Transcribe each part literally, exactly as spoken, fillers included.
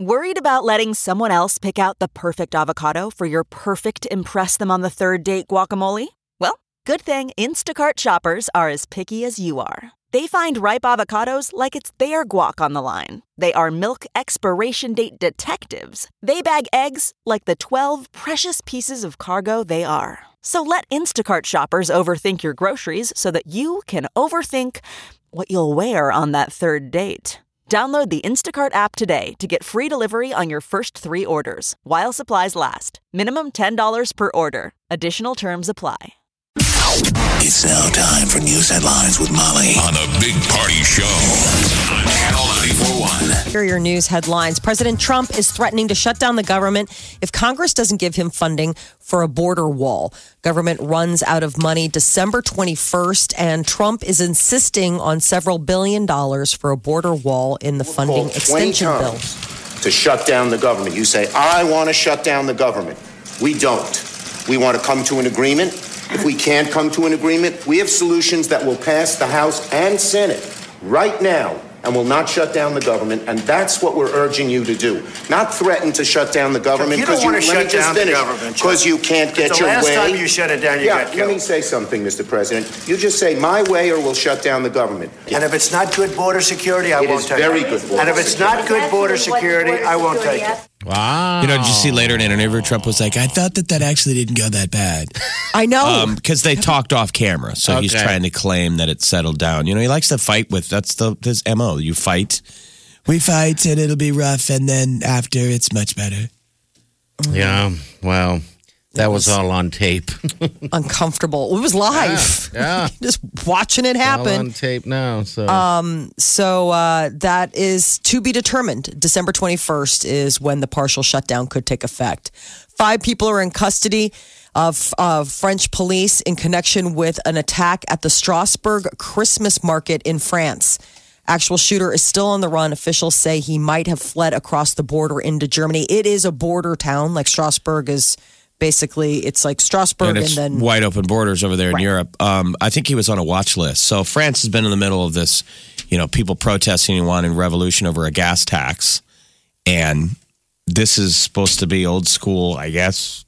Worried about letting someone else pick out the perfect avocado for your perfect impress them on the third date guacamole? Well, good thing Instacart shoppers are as picky as you are. They find ripe avocados like it's their guac on the line. They are milk expiration date detectives. They bag eggs like the twelve precious pieces of cargo they are. So let Instacart shoppers overthink your groceries so that you can overthink what you'll wear on that third date. Download the Instacart app today to get free delivery on your first three orders, while supplies last. Minimum ten dollars per order. Additional terms apply. It's now time for news headlines with Molly on a Big Party Show on Channel ninety-four point one. Here are your news headlines. President Trump is threatening to shut down the government if Congress doesn't give him funding for a border wall. Government runs out of money December twenty-first, and Trump is insisting on several billion dollars for a border wall in the funding extension bill. To shut down the government. You say, I want to shut down the government. We don't. We want to come to an agreement. If we can't come to an agreement, we have solutions that will pass the House and Senate right now and will not shut down the government. And that's what we're urging you to do. Not threaten to shut down the government. You don't want to shut down the government. Because you can't get your way. The last time you shut it down, you yeah, got killed. Let me say something, Mister President. You just say my way or we'll shut down the government. And if it's not good border security, I it won't is take very it. good border and if it's not good border security, I won't take it. Wow. You know, did you see later in an interview, Trump was like, I thought that that actually didn't go that bad. I know. Because um, they talked off camera. So Okay. he's trying to claim that it settled down. You know, he likes to fight with, that's the his M O. You fight. We fight and it'll be rough. And then after, it's much better. Yeah, well, that was all on tape. Uncomfortable. It was live. Yeah, yeah. Just watching it happen. All on tape now. So, um, so uh, that is to be determined. December twenty-first is when the partial shutdown could take effect. Five people are in custody of uh, French police in connection with an attack at the Strasbourg Christmas market in France. Actual shooter is still on the run. Officials say he might have fled across the border into Germany. It is a border town. Like Strasbourg is basically, it's like Strasbourg and, and, it's then wide open borders over there in Right. Europe. Um, I think he was on a watch list. So France has been in the middle of this, you know, people protesting and wanting revolution over a gas tax. And this is supposed to be old school, I guess,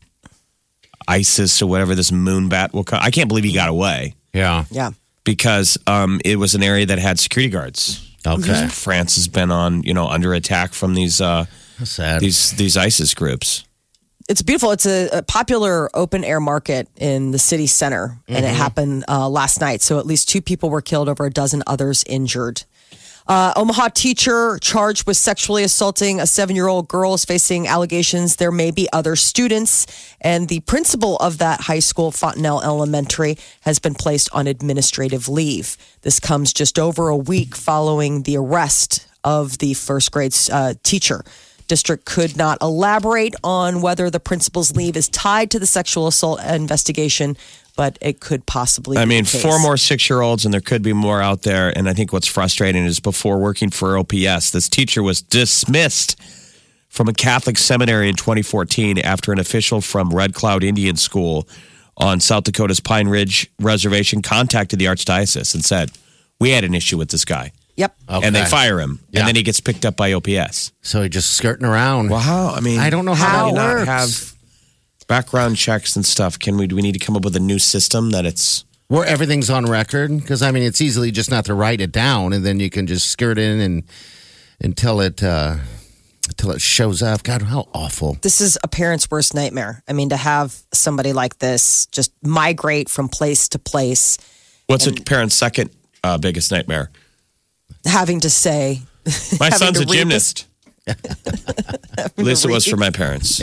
ISIS or whatever this moonbat will come. I can't believe he got away. yeah. yeah. Because um, it was an area that had security guards. Okay. France has been on, you know, under attack from these uh, That's sad. these these ISIS groups. It's beautiful. It's a, a popular open air market in the city center, and it happened uh, last night. So at least two people were killed, over a dozen others injured. Uh, Omaha teacher charged with sexually assaulting a seven-year-old girl is facing allegations. There may be other students, and the principal of that high school, Fontenelle Elementary, has been placed on administrative leave. This comes just over a week following the arrest of the first grade uh, teacher. District could not elaborate on whether the principal's leave is tied to the sexual assault investigation, but it could possibly I be mean, the case. four more six-year-olds, and there could be more out there. And I think what's frustrating is before working for O P S, this teacher was dismissed from a Catholic seminary in twenty fourteen after an official from Red Cloud Indian School on South Dakota's Pine Ridge Reservation contacted the Archdiocese and said, we had an issue with this guy. Yep. Okay. And they fire him. Yeah. And then he gets picked up by O P S. So he just skirting around. Well, how? I mean, I don't know how, how do you that not works. have background checks and stuff? Can we? Do we need to come up with a new system that it's Where everything's on record? Because, I mean, it's easily just not to write it down, and then you can just skirt in and until it uh, until it shows up. God, how awful. This is a parent's worst nightmare. I mean, to have somebody like this just migrate from place to place, what's a parent's second uh, biggest nightmare? having to say, My having son's to a read gymnast. At least it was for my parents.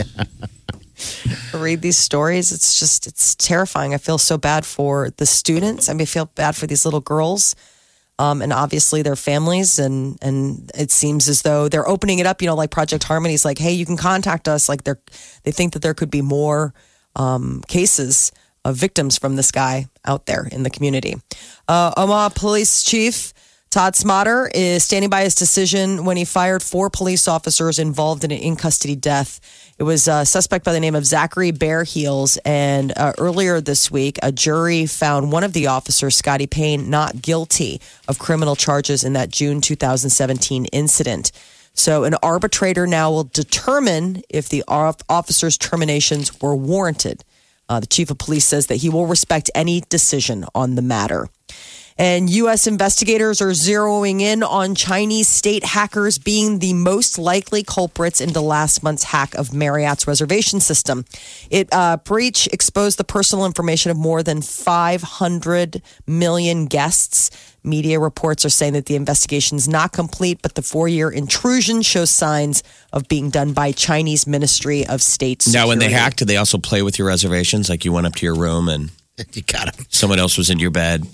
read these stories. It's just, it's terrifying. I feel so bad for the students. I mean, I feel bad for these little girls. Um, and obviously their families, and and it seems as though they're opening it up. You know, like Project Harmony's like, hey, you can contact us. Like they're they think that there could be more um, cases of victims from this guy out there in the community. Uh, Omaha Police Chief Todd Smotter is standing by his decision when he fired four police officers involved in an in-custody death. It was a suspect by the name of Zachary Bearheels, and uh, earlier this week, a jury found one of the officers, Scotty Payne, not guilty of criminal charges in that June two thousand seventeen incident. So an arbitrator now will determine if the officer's terminations were warranted. Uh, the chief of police says that he will respect any decision on the matter. And U S investigators are zeroing in on Chinese state hackers being the most likely culprits into last month's hack of Marriott's reservation system. It uh, breach exposed the personal information of more than five hundred million guests. Media reports are saying that the investigation is not complete, but the four-year intrusion shows signs of being done by Chinese Ministry of State Security. Now, when they hacked, did they also play with your reservations? Like you went up to your room and you got it. Someone else was in your bed.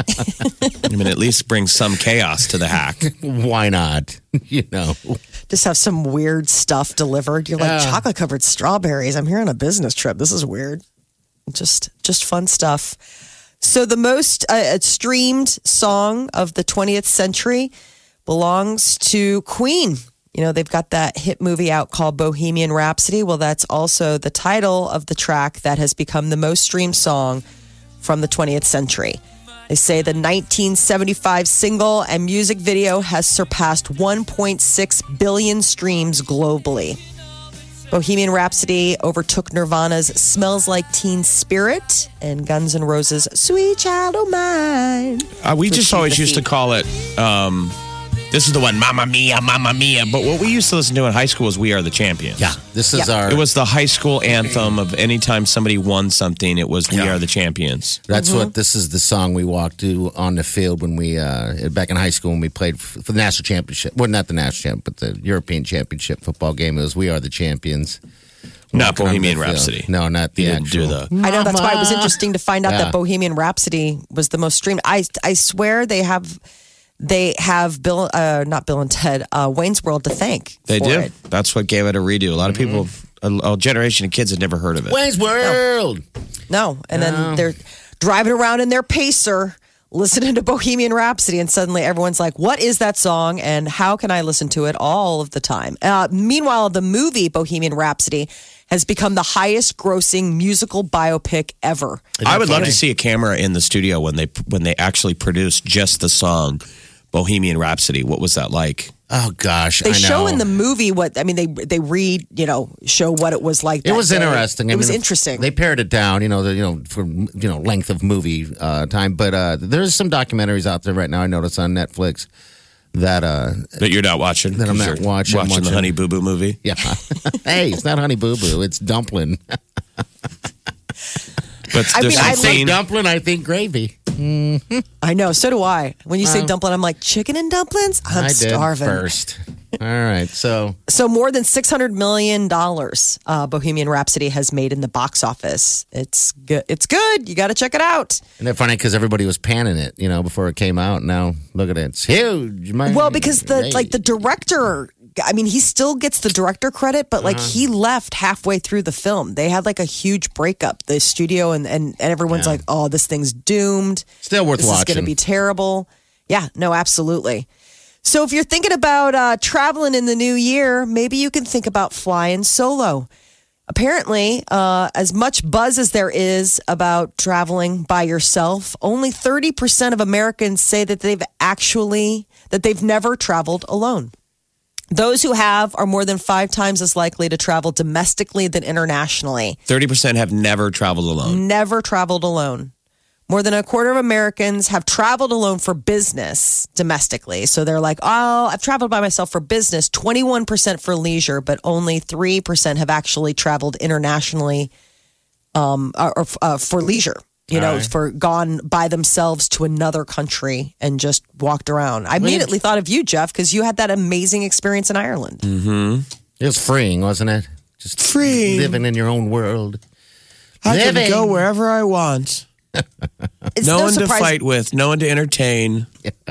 I mean, at least bring some chaos to the hack. Why not? You know, just have some weird stuff delivered. You're like uh, chocolate covered strawberries. I'm here on a business trip. This is weird. Just, just fun stuff. So the most uh, streamed song of the twentieth century belongs to Queen. You know, they've got that hit movie out called Bohemian Rhapsody. Well, that's also the title of the track that has become the most streamed song from the twentieth century. They say the nineteen seventy-five single and music video has surpassed one point six billion streams globally. Bohemian Rhapsody overtook Nirvana's Smells Like Teen Spirit and Guns N' Roses' Sweet Child O' Mine. Uh, we just always used to call it... Um This is the one, Mamma Mia, Mamma Mia. But what we used to listen to in high school was We Are the Champions. Yeah, this is yeah. our... It was the high school anthem of anytime somebody won something, it was We yeah. Are the Champions. That's mm-hmm. what, this is the song we walked to on the field when we, uh, back in high school when we played for the national championship. Well, not the national champ, but the European championship football game. It was We Are the Champions. Not Bohemian Rhapsody. No, not the you actual. Didn't do the- I know, that's why it was interesting to find out yeah. that Bohemian Rhapsody was the most streamed. I, I swear they have... They have Bill, uh, not Bill and Ted, uh, Wayne's World to thank. They for do. It. That's what gave it a redo. A lot of people, a, a generation of kids had never heard of it. Wayne's World. No. And no. then they're driving around in their Pacer, listening to Bohemian Rhapsody, and suddenly everyone's like, what is that song, and how can I listen to it all of the time? Uh, meanwhile, the movie Bohemian Rhapsody has become the highest grossing musical biopic ever. I would love to see a camera in the studio when they when they actually produced just the song Bohemian Rhapsody. What was that like? Oh gosh, they I know. show in the movie what I mean. They they read, you know, show what it was like. It was day. interesting. It I was mean, interesting. They pared it down, you know, the, you know, for you know length of movie uh, time. But uh, there's some documentaries out there right now. I noticed on Netflix that uh, that you're not watching. That I'm not watching. watching. Watching the Honey Boo Boo movie. Yeah. Hey, it's not Honey Boo Boo. It's Dumpling. But I mean, I I think dumpling. I think gravy. Mm-hmm. I know. So do I. When you say Um, dumpling, I'm like chicken and dumplings. I'm I starving. did first. All right. So, so more than six hundred million dollars, uh, Bohemian Rhapsody has made in the box office. It's good. It's good. You got to check it out. Isn't it funny because everybody was panning it, you know, before it came out. Now look at it. It's huge. My, Well, because the hey. like the director. I mean, he still gets the director credit, but like Uh-huh. he left halfway through the film. They had like a huge breakup, the studio, and and, and everyone's Yeah. like, "Oh, this thing's doomed. Still worth this watching. is going to be terrible." Yeah, no, absolutely. So if you're thinking about uh, traveling in the new year, maybe you can think about flying solo. Apparently, uh, as much buzz as there is about traveling by yourself, only thirty percent of Americans say that they've actually that they've never traveled alone. Those who have are more than five times as likely to travel domestically than internationally. thirty percent have never traveled alone. Never traveled alone. More than a quarter of Americans have traveled alone for business domestically. So they're like, oh, I've traveled by myself for business, twenty-one percent for leisure, but only three percent have actually traveled internationally um, or, or uh, for leisure. You know, right. for gone by themselves to another country and just walked around. I immediately thought of you, Jeff, because you had that amazing experience in Ireland. Mm-hmm. It was freeing, wasn't it? Just Free. living in your own world. I Living. can go wherever I want. It's no, no one surprise- to fight with, no one to entertain.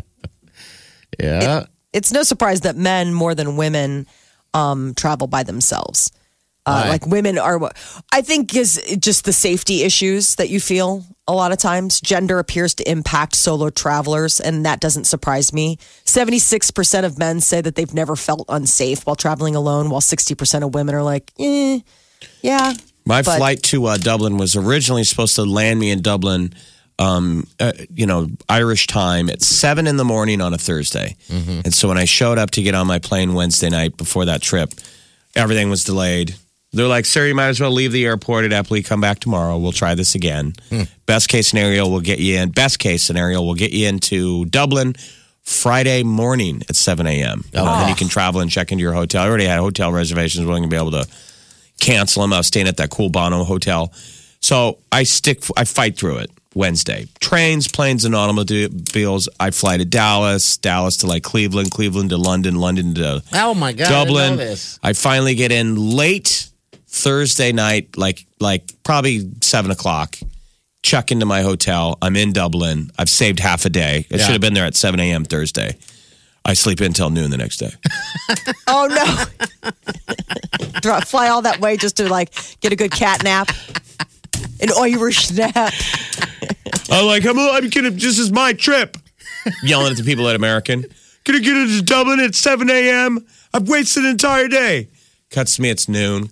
Yeah. It's no surprise that men more than women um, travel by themselves. Uh, Right. like women are, I think, is just the safety issues that you feel a lot of times. Gender appears to impact solo travelers, and that doesn't surprise me. seventy-six percent of men say that they've never felt unsafe while traveling alone, while sixty percent of women are like, eh, yeah. My But- flight to uh, Dublin was originally supposed to land me in Dublin um, uh, you know, Irish time at seven in the morning on a Thursday. Mm-hmm. And so when I showed up to get on my plane Wednesday night before that trip, everything was delayed. They're like, sir, you might as well leave the airport at Eppley, come back tomorrow. We'll try this again. Hmm. Best case scenario, we'll get you in. Best case scenario, we'll get you into Dublin Friday morning at seven a.m. Oh. And then you can travel and check into your hotel. I already had hotel reservations. We're going to be able to cancel them. I was staying at that cool Bono hotel. So I stick, I fight through it Wednesday. Trains, planes, and automobiles. I fly to Dallas, Dallas to like Cleveland, Cleveland to London, London to oh my God, Dublin. I know this. I finally get in late Thursday night, like like probably seven o'clock. Check into my hotel. I'm in Dublin. I've saved half a day. I yeah. should have been there at seven a.m. Thursday. I sleep in until noon the next day. Oh, no. Fly all that way just to, like, get a good cat nap. An Irish nap. I'm like, I'm, I'm gonna, this is my trip. Yelling at the people at American. Gonna get into Dublin at seven a.m. I've wasted an entire day. Cuts to me, it's noon.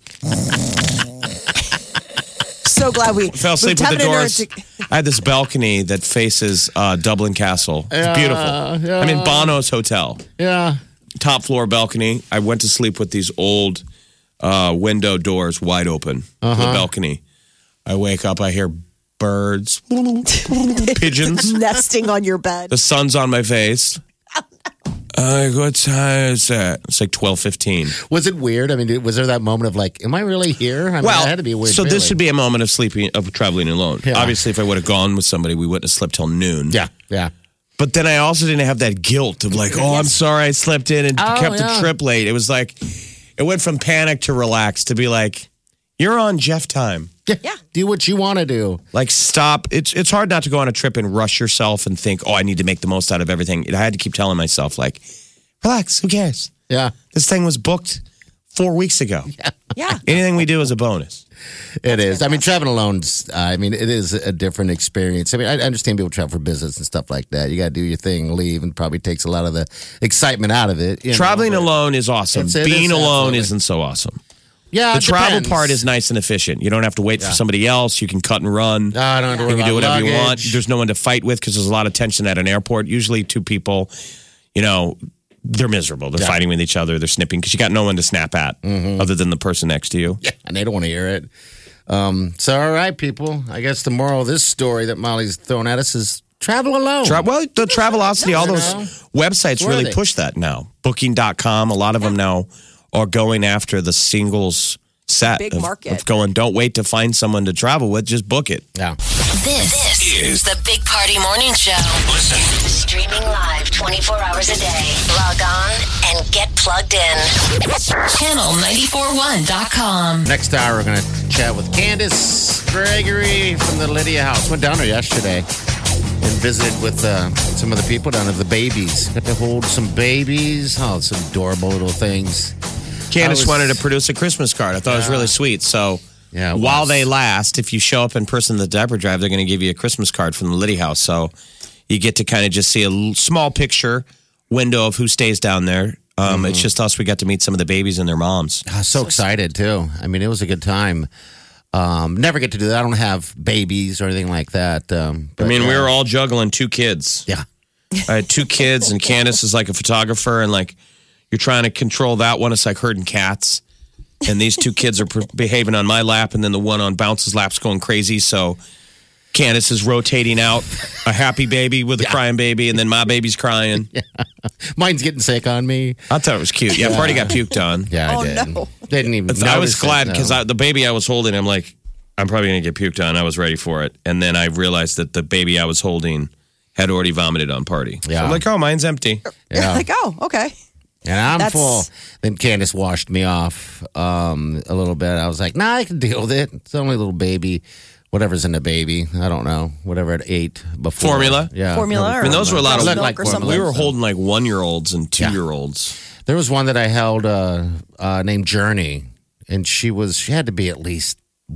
So glad we fell asleep with the doors. To- I had this balcony that faces uh, Dublin Castle. It's yeah, beautiful. Yeah. I'm in Bono's hotel. Yeah. Top floor balcony. I went to sleep with these old uh, window doors wide open uh-huh. to the balcony. I wake up, I hear birds, pigeons. Nesting on your bed. The sun's on my face. Uh, what time is that? It's like twelve fifteen. Was it weird? I mean, was there that moment of like, am I really here? I mean, well, it had to be a weird so feeling. this would be a moment of sleeping, of traveling alone. Yeah. Obviously, if I would have gone with somebody, we wouldn't have slept till noon. Yeah, yeah. But then I also didn't have that guilt of like, oh, I'm sorry I slept in and oh, kept yeah. the trip late. It was like, it went from panic to relax to be like, you're on Jeff time. Yeah. yeah. Do what you want to do. Like, stop. It's it's hard not to go on a trip and rush yourself and think, oh, I need to make the most out of everything. I had to keep telling myself, like, relax. Who cares? Yeah. This thing was booked four weeks ago. Yeah. yeah. Anything we do is a bonus. It That's is. Fantastic. I mean, traveling alone, uh, I mean, it is a different experience. I mean, I understand people travel for business and stuff like that. You got to do your thing, leave, and probably takes a lot of the excitement out of it. You Traveling know, alone is awesome. It's, it Being is, alone absolutely. isn't so awesome. Yeah, the travel depends. part is nice and efficient. You don't have to wait yeah. for somebody else. You can cut and run. No, I don't have to worry You can about do whatever luggage. you want. There's no one to fight with because there's a lot of tension at an airport. Usually two people, you know, they're miserable. They're yeah. fighting with each other. They're snipping because you got no one to snap at mm-hmm. other than the person next to you. Yeah, and they don't want to hear it. Um, so, all right, people. I guess the moral of this story that Molly's throwing at us is travel alone. Tra- well, the Travelocity, all those know. websites really they? push that now. Booking dot com, a lot of yeah. them now are going after the singles set Big of, market. of going, don't wait to find someone to travel with, just book it. Yeah. This, this is the Big Party Morning Show. Listen. Streaming live twenty-four hours a day. Log on and get plugged in. channel nine four one dot com. Next hour, we're going to chat with Candace Gregory from the Lydia House. Went down there yesterday and visited with uh, some of the people down there, the babies. Got to hold some babies. Oh, some adorable little things. Candace was, wanted to produce a Christmas card. I thought yeah. it was really sweet. So yeah, while they last, if you show up in person at the diaper drive, they're going to give you a Christmas card from the Liddy House. So you get to kind of just see a small picture window of who stays down there. Um, mm-hmm. It's just us. We got to meet some of the babies and their moms. I was so excited, too. I mean, it was a good time. Um, never get to do that. I don't have babies or anything like that. Um, but, I mean, uh, we were all juggling two kids. Yeah. I had two kids, and Candace is like a photographer, and like, you're trying to control that one. It's like herding cats. And these two kids are pre- behaving on my lap, and then the one on Bounce's lap's going crazy. So Candace is rotating out a happy baby with a yeah. crying baby, and then my baby's crying. Yeah. Mine's getting sick on me. I thought it was cute. Yeah, yeah. Party got puked on. Yeah, I oh, did. No. Didn't even I was glad because no. the baby I was holding, I'm like, I'm probably going to get puked on. I was ready for it. And then I realized that the baby I was holding had already vomited on Party. Yeah. So I'm like, oh, mine's empty. Yeah. Like, oh, okay. And I'm That's... full. Then Candace washed me off um, a little bit. I was like, nah, I can deal with it. It's only a little baby. Whatever's in the baby. I don't know. Whatever it ate before. Formula? Yeah. Formula? I mean, those were a lot of... Like or something. We were holding like one-year-olds and two-year-olds. Yeah. There was one that I held uh, uh, named Journey. And she was... She had to be at least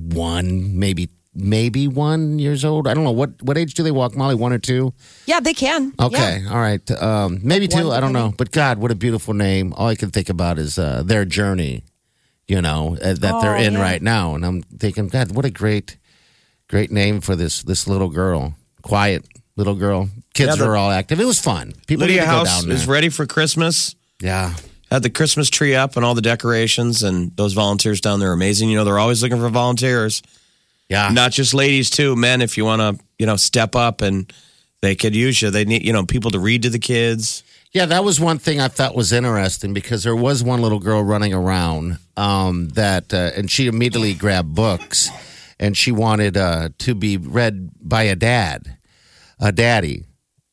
one, maybe maybe one years old. I don't know. What what age do they walk, Molly? One or two? Yeah, they can. Okay. Yeah. All right. Um, maybe like two. one, I don't maybe. know. But God, what a beautiful name. All I can think about is uh, their journey, you know, uh, that oh, they're in yeah. right now. And I'm thinking, God, what a great, great name for this this little girl. quiet little girl. Kids Yeah, the- were all active. It was fun. People Lydia need to go House down there. is ready for Christmas. Yeah. Had the Christmas tree up and all the decorations, and those volunteers down there are amazing. You know, they're always looking for volunteers. Yeah. Not just ladies, too. Men, if you want to, you know, step up and they could use you. They need, you know, people to read to the kids. Yeah, that was one thing I thought was interesting because there was one little girl running around um, that, uh, and she immediately grabbed books and she wanted uh, to be read by a dad, a daddy.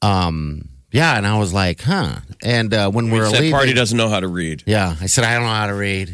Um, yeah, and I was like, huh. And uh, when we were That leaving, party doesn't know how to read. yeah, I said, I don't know how to read.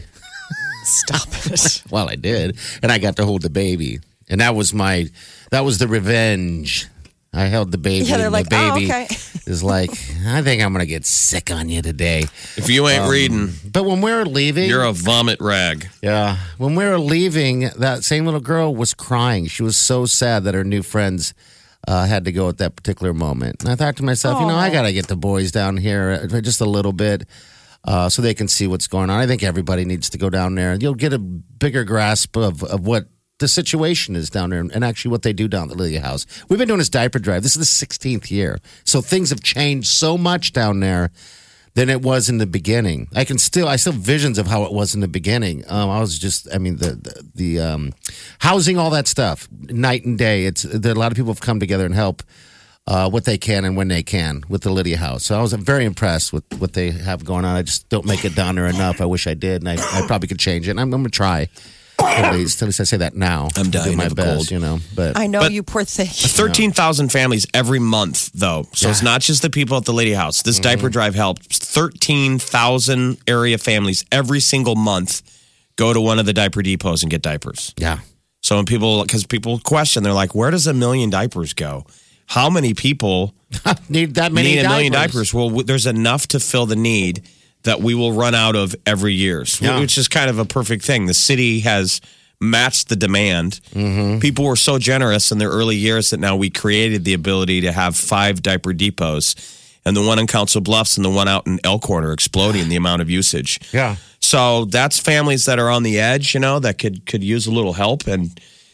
Stop it. Well, I did, and I got to hold the baby, and that was my, that was the revenge. I held the baby. Yeah, they're and like, the oh, baby okay. is like, I think I'm gonna get sick on you today. If you ain't Um, reading, But when we were leaving, you're a vomit rag. yeah, when we were leaving, that same little girl was crying. She was so sad that her new friends uh, had to go at that particular moment. And I thought to myself, you know, I gotta get the boys down here uh, just a little bit. Uh, so they can see what's going on. I think everybody needs to go down there. You'll get a bigger grasp of, of what the situation is down there and actually what they do down at the Lydia House. We've been doing this diaper drive. This is the sixteenth year. So things have changed so much down there than it was in the beginning. I can still, I still have visions of how it was in the beginning. Um, I was just, I mean, the, the, the um, housing, all that stuff, night and day. It's there, a lot of people have come together and help uh, what they can and when they can with the Lydia House. So I was very impressed with what they have going on. I just don't make it down there enough. I wish I did, and I, I probably could change it. And I'm, I'm going to try. At least, at least I say that now. I'm dying I do my of a best, cold. you know. But I know But- you poor thing. thirteen thousand families every month, though. So it's not just the people at the Lady House. This diaper drive helps thirteen thousand area families every single month go to one of the diaper depots and get diapers. yeah, So when people, because people question, they're like, where does a million diapers go? How many people need that many need a million diapers. diapers? Well, w- there's enough to fill the need that we will run out of every year, so- Yeah. which is kind of a perfect thing. The city has matched the demand. Mm-hmm. People were so generous in their early years that now we created the ability to have five diaper depots, and the one in Council Bluffs and the one out in Elkhorn are exploding the amount of usage. Yeah. So that's families that are on the edge, you know, that could could use a little help. And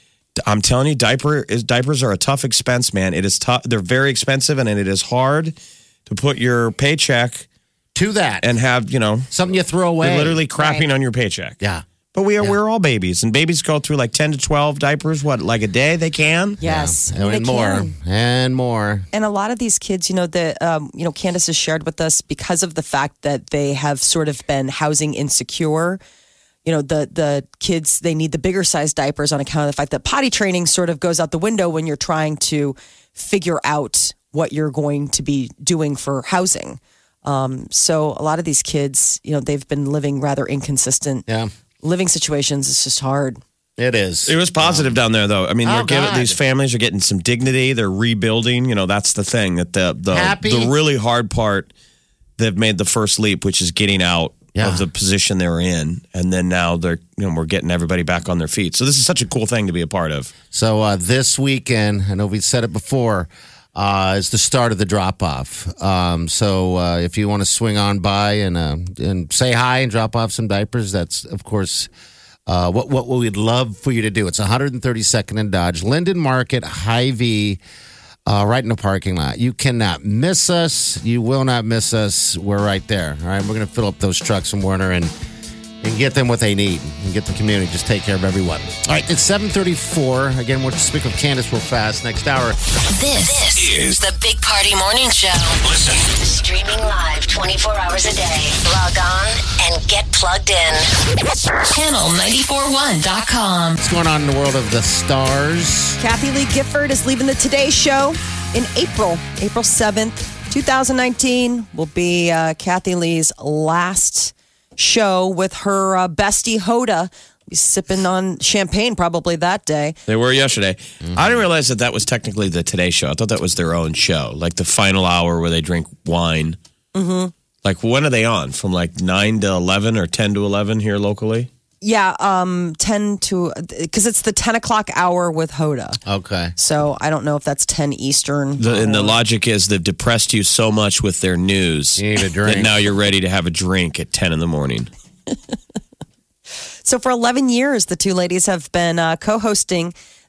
I'm telling you, diaper is diapers are a tough expense, man. It is tough. They're very expensive, and it is hard to put your paycheck To that. and have, you know, Something you throw away. you're literally crapping on your paycheck. Yeah. But we are we're all babies, and babies go through like ten to twelve diapers. What, like a day? They can. Yes. And, they more. can. And more. And a lot of these kids, you know, the um, you know, Candace has shared with us because of the fact that they have sort of been housing insecure. You know, the the kids, they need the bigger size diapers on account of the fact that potty training sort of goes out the window when you're trying to figure out what you're going to be doing for housing. Um, so a lot of these kids, you know, they've been living rather inconsistent Yeah. living situations. It's just hard. It is. It was positive down there, though. I mean, Oh, they're giving God. these families are getting some dignity. They're rebuilding. You know, that's the thing that the the Happy. the really hard part. They've made the first leap, which is getting out Yeah. of the position they were in, and then now they're you know we're getting everybody back on their feet. So this is such a cool thing to be a part of. So uh, this weekend, I know we've said it before, uh, is the start of the drop off. Um, so uh, if you want to swing on by and uh, and say hi and drop off some diapers, that's of course uh, what what we'd love for you to do. It's one thirty-second and Dodge, Linden Market, Hy-Vee. Uh, right in the parking lot. You cannot miss us. You will not miss us. We're right there. All right, we're going to fill up those trucks from Werner and and get them what they need and get the community. Just take care of everyone. All right, it's seven thirty-four. Again, we'll speak with Candace real fast. Next hour. This, this is the Big Party Morning Show. Listen. Streaming live twenty-four hours a day. Log on and get plugged in. channel nine four one dot com. What's going on in the world of the stars? Kathy Lee Gifford is leaving the Today Show in April. April seventh, twenty nineteen will be uh, Kathy Lee's last show with her uh, bestie Hoda. Be sipping on champagne probably that day. They were yesterday. I didn't realize that that was technically the Today Show. I thought that was their own show, like the final hour where they drink wine. Mm-hmm. Like when are they on? From like nine to eleven or ten to eleven here locally? Yeah, um, ten to because it's the ten o'clock hour with Hoda. Okay. So I don't know if that's ten Eastern. The, and the logic is they've depressed you so much with their news You need a drink. that now you're ready to have a drink at ten in the morning. So for eleven years, the two ladies have been uh, co-hosting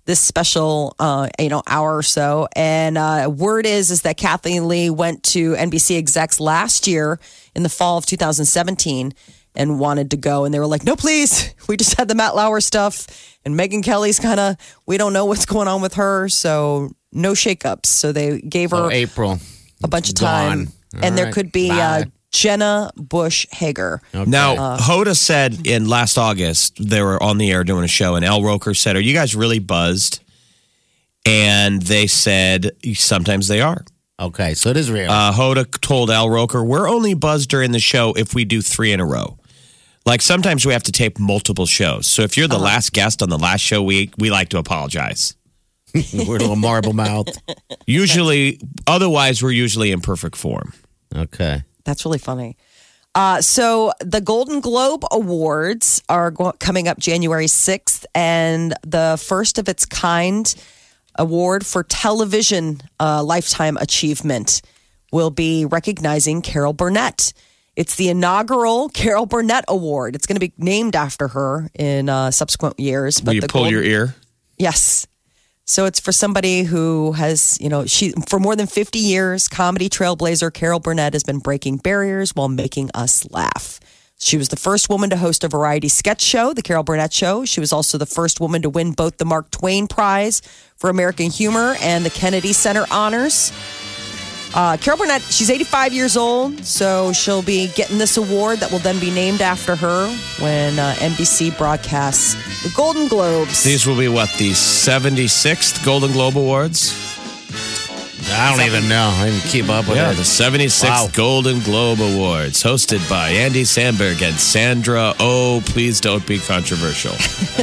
this special, uh, you know, hour or so. And uh, word is is that Kathleen Lee went to N B C execs last year in the fall of two thousand seventeen and wanted to go. And they were like, no, please. We just had the Matt Lauer stuff. And Megyn Kelly's kind of, we don't know what's going on with her. So no shakeups. So they gave her oh, April. a bunch of time. All and there right. could be uh, Jenna Bush Hager. Okay. Now, Uh, Hoda said in last August, they were on the air doing a show, and Al Roker said, are you guys really buzzed? And they said, sometimes they are. Okay, so it is real. Uh, Hoda told Al Roker, we're only buzzed during the show if we do three in a row. Like sometimes we have to tape multiple shows. So if you're the Uh-huh. last guest on the last show, we we like to apologize. We're a little marble mouth. Usually, otherwise, we're usually in perfect form. Okay. That's really funny. Uh, so the Golden Globe Awards are go- coming up January sixth, and the first of its kind award for television uh, lifetime achievement will be recognizing Carol Burnett. It's the inaugural Carol Burnett Award. It's going to be named after her in uh, subsequent years. Will you the pull Golden- your ear? Yes. So it's for somebody who has, you know, she for more than fifty years, comedy trailblazer Carol Burnett has been breaking barriers while making us laugh. She was the first woman to host a variety sketch show, The Carol Burnett Show. She was also the first woman to win both the Mark Twain Prize for American Humor and the Kennedy Center Honors. Uh, Carol Burnett, she's eighty-five years old, so she'll be getting this award that will then be named after her when uh, N B C broadcasts the Golden Globes. These will be what, the seventy-sixth Golden Globe Awards? I don't even know. I didn't keep up with Yeah, it. the seventy-sixth Wow. Golden Globe Awards, hosted by Andy Samberg and Sandra Oh, please don't be controversial.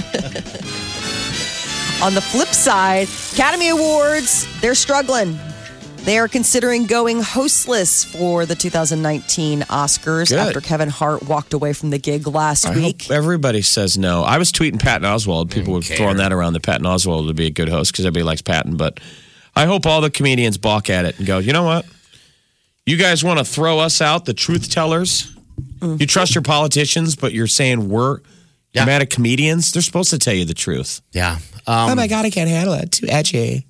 On the flip side, Academy Awards, they're struggling. They are considering going hostless for the two thousand nineteen Oscars Good. after Kevin Hart walked away from the gig last I week. hope everybody says no. I was tweeting Patton Oswalt. People were care. throwing that around that Patton Oswalt would be a good host because everybody likes Patton. But I hope all the comedians balk at it and go, you know what? You guys want to throw us out, the truth tellers? You trust your politicians, but you're saying we're Yeah. mad at comedians? They're supposed to tell you the truth. Yeah. Um, oh my God, I can't handle it. Too edgy.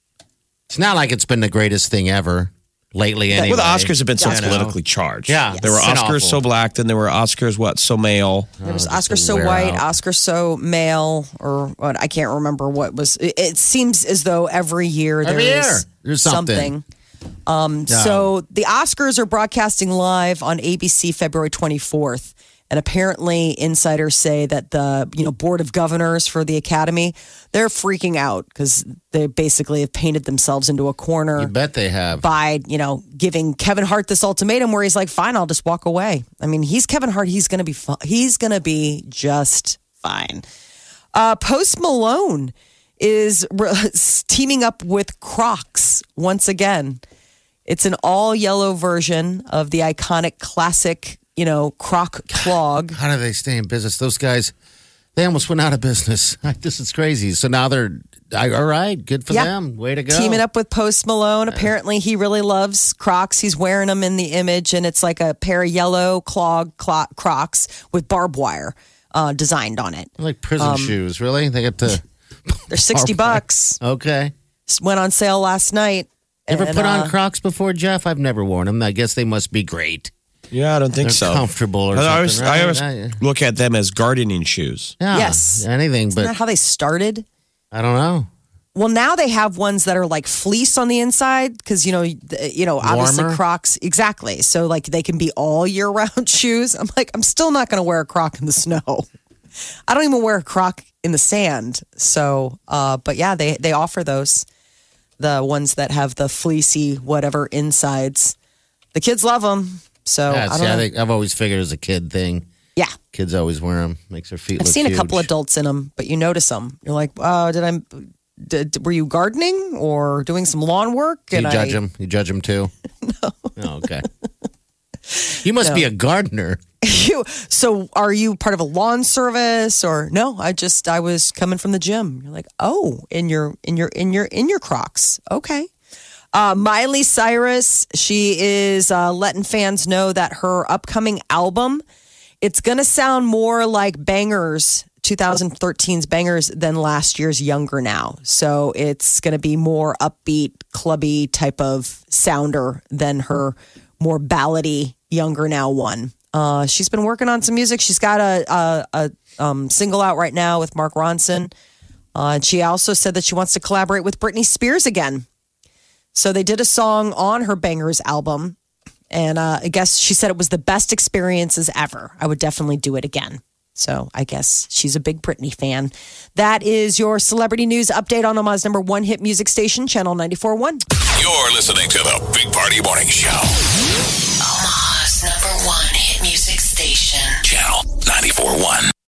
It's not like it's been the greatest thing ever lately anyway. Well, the Oscars have been so You know? politically charged. Yeah. There were It's been Oscars awful. so black, then there were Oscars, what, so male. There was Oh, just Oscar to so wear white, out. Oscar so male, or what? I can't remember what was. It, it seems as though every year there Every is year, there's something. Um, Yeah. So the Oscars are broadcasting live on A B C February twenty-fourth. And apparently insiders say that the, you know, board of governors for the Academy, they're freaking out because they basically have painted themselves into a corner You bet they have. by, you know, giving Kevin Hart this ultimatum where he's like, fine, I'll just walk away. I mean, he's Kevin Hart. He's going to be fine. He's going to be just fine. Uh, Post Malone is re- teaming up with Crocs once again. It's an all yellow version of the iconic classic, you know, Croc clog. How do they stay in business? Those guys, they almost went out of business. This is crazy. So now they're, I- all right, good for Yeah. them. Way to go. Teaming up with Post Malone. Apparently, he really loves Crocs. He's wearing them in the image, and it's like a pair of yellow clog clo- Crocs with barbed wire uh, designed on it. Like prison Um, shoes, really? They get to, They're sixty bucks. okay. Went on sale last night. Ever And, put on uh, Crocs before, Jeff? I've never worn them. I guess they must be great. Yeah, I don't think They're so. comfortable or I always, something, I always right? look at them as gardening shoes. Yeah, Yes. anything, Isn't that but how they started? I don't know. Well, now they have ones that are like fleece on the inside because you know, th- you know, obviously Warmer? Crocs exactly. So like they can be all year round shoes. I'm like, I'm still not going to wear a Croc in the snow. I don't even wear a Croc in the sand. So, uh, but yeah, they they offer those, the ones that have the fleecy whatever insides. The kids love them. So Yeah, I see, don't I know. think I've always figured it was a kid thing. Yeah. Kids always wear them. Makes their feet I've look seen a couple huge. adults in them, but you notice them. You're like, oh, did I? Did, were you gardening or doing some lawn work? Do you And judge I, them? You judge them too? No. Oh, okay. You must be a gardener. You, so are you part of a lawn service or no? I just I was coming from the gym. You're like, oh, in your in your in your in your Crocs. Okay. Uh, Miley Cyrus, she is uh, letting fans know that her upcoming album, it's going to sound more like Bangers twenty thirteen's bangers than last year's Younger Now. So it's going to be more upbeat, clubby type of sounder than her more ballady Younger Now one. Uh, she's been working on some music. She's got a, a, a um, single out right now with Mark Ronson. Uh, and she also said that she wants to collaborate with Britney Spears again. So they did a song on her Bangers album. And uh, I guess she said it was the best experiences ever. I would definitely do it again. So I guess she's a big Britney fan. That is your celebrity news update on Omaha's number one hit music station, Channel ninety-four point one. You're listening to the Big Party Morning Show. Omaha's number one hit music station, Channel ninety-four point one.